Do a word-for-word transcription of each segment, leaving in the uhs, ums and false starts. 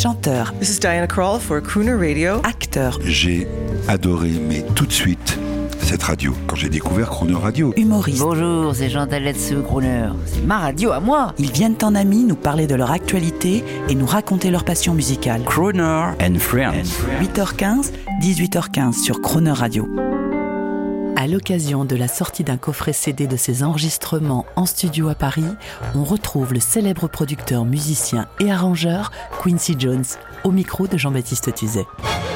chanteur. This is Diana Krall for Crooner Radio. Acteur. J'ai adoré, mais tout de suite, cette radio, quand j'ai découvert Crooner Radio. Humoriste. Bonjour, c'est Jean Taletsu, Crooner. C'est ma radio à moi. Ils viennent en amis nous parler de leur actualité et nous raconter leur passion musicale. Crooner and Friends. huit heures quinze, dix-huit heures quinze sur Crooner Radio. À l'occasion de la sortie d'un coffret C D de ses enregistrements en studio à Paris, on retrouve le célèbre producteur, musicien et arrangeur Quincy Jones au micro de Jean-Baptiste Tuzet.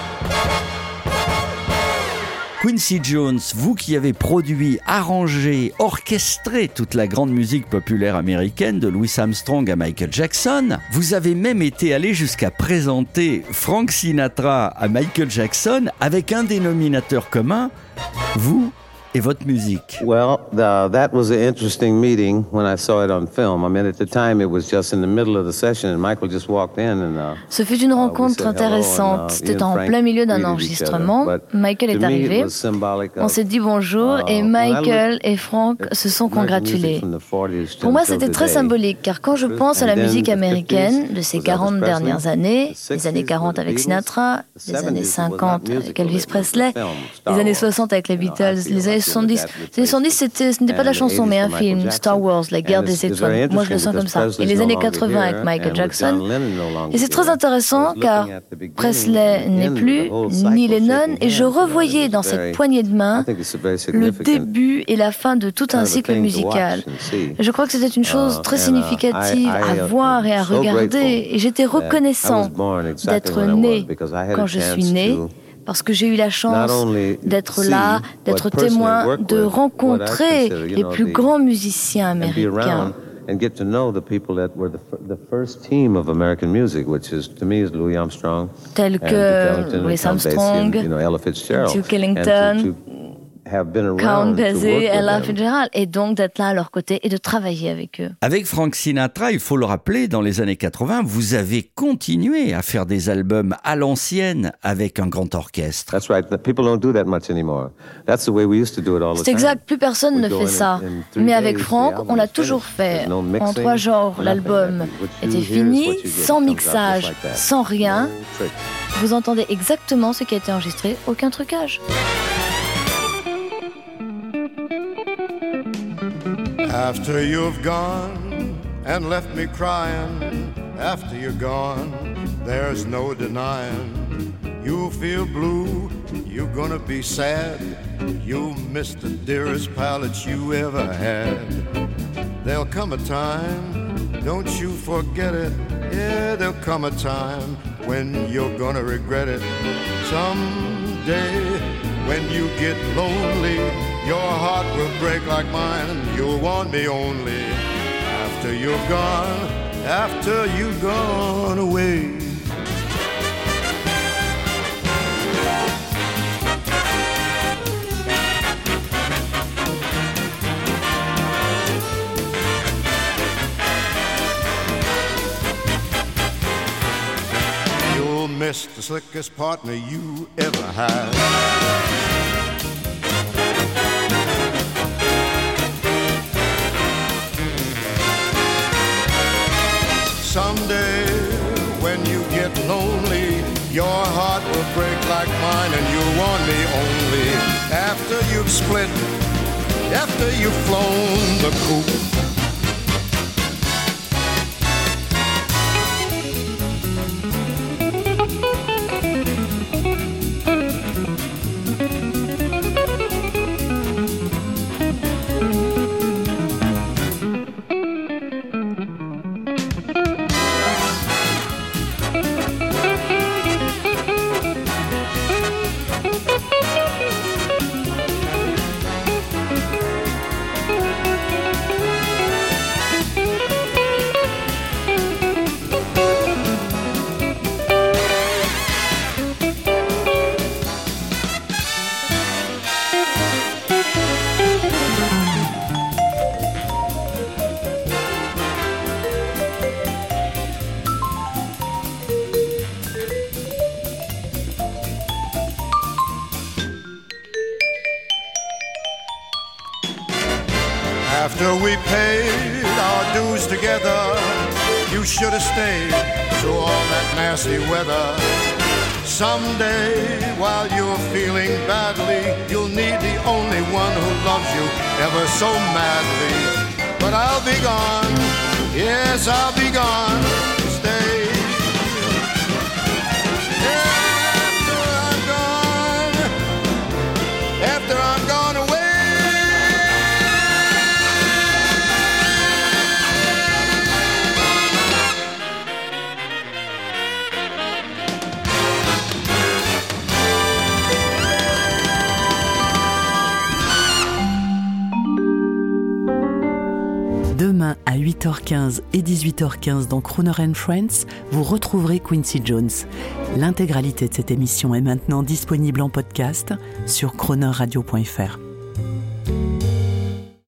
Quincy Jones, vous qui avez produit, arrangé, orchestré toute la grande musique populaire américaine de Louis Armstrong à Michael Jackson, vous avez même été allé jusqu'à présenter Frank Sinatra à Michael Jackson avec un dénominateur commun, vous et votre musique. Well, the, that was an interesting meeting when I saw it on film. I mean, at the time, it was just in the middle of the session, and Michael just walked in and. Uh, Ce fut une rencontre intéressante. C'était en plein milieu d'un enregistrement. Michael est arrivé. On s'est dit bonjour et Michael et Frank se sont congratulés. Pour moi, c'était très symbolique, car quand je pense à la musique américaine de ces quarante dernières années, les années quarante avec Sinatra, les années cinquante avec Elvis Presley, les années soixante avec les Beatles, les années soixante-dix. Les années soixante-dix, c'était, ce n'était pas de la chanson, mais un film, Star Wars, la guerre des étoiles. Moi, je le sens comme ça. Et les années quatre-vingts avec Michael Jackson. Et c'est très intéressant, car Presley n'est plus, ni Lennon, et je revoyais dans cette poignée de main le début et la fin de tout un cycle musical. Je crois que c'était une chose très significative à voir et à regarder, et j'étais reconnaissant d'être né quand je suis né, parce que j'ai eu la chance d'être là, d'être témoin, de rencontrer les plus grands musiciens américains. And get to know the people that were the, f- the first team of American music, which is, to me, is Louis Armstrong, tels que Louis Armstrong, and, you know, Ella Fitzgerald, Duke Ellington, to, to have been around Count to Basie, work with Ella them. Fitzgerald, et donc d'être là à leur côté et de travailler avec eux. Avec Frank Sinatra, il faut le rappeler, dans les années quatre-vingts, vous avez continué à faire des albums à l'ancienne avec un grand orchestre. That's right. People don't do that much anymore. That's the way we used to do it all the time. C'est exact, plus personne ne fait ça. Mais avec Frank, on l'a toujours fait. En trois genres, l'album était fini, sans mixage, sans rien. Vous entendez exactement ce qui a été enregistré, aucun trucage. After you've gone and left me crying, after you're gone, there's no denying. You'll feel blue, you're gonna be sad. You'll miss the dearest pal that you ever had. There'll come a time, don't you forget it. Yeah, there'll come a time when you're gonna regret it. Someday, when you get lonely, your heart will break like mine, and you'll want me only after you're gone, after you've gone away. You'll miss the slickest partner you ever had. Someday, when you get lonely, your heart will break like mine, and you'll want me only after you've split, after you've flown the coop. After we paid our dues together, you should have stayed through all that nasty weather. Someday, while you're feeling badly, you'll need the only one who loves you ever so madly. But I'll be gone, yes, I'll be gone to stay. After I'm gone, after I'm gone away. Demain à huit heures quinze et dix-huit heures quinze dans Crooner and Friends, vous retrouverez Quincy Jones. L'intégralité de cette émission est maintenant disponible en podcast sur crooner radio point f r.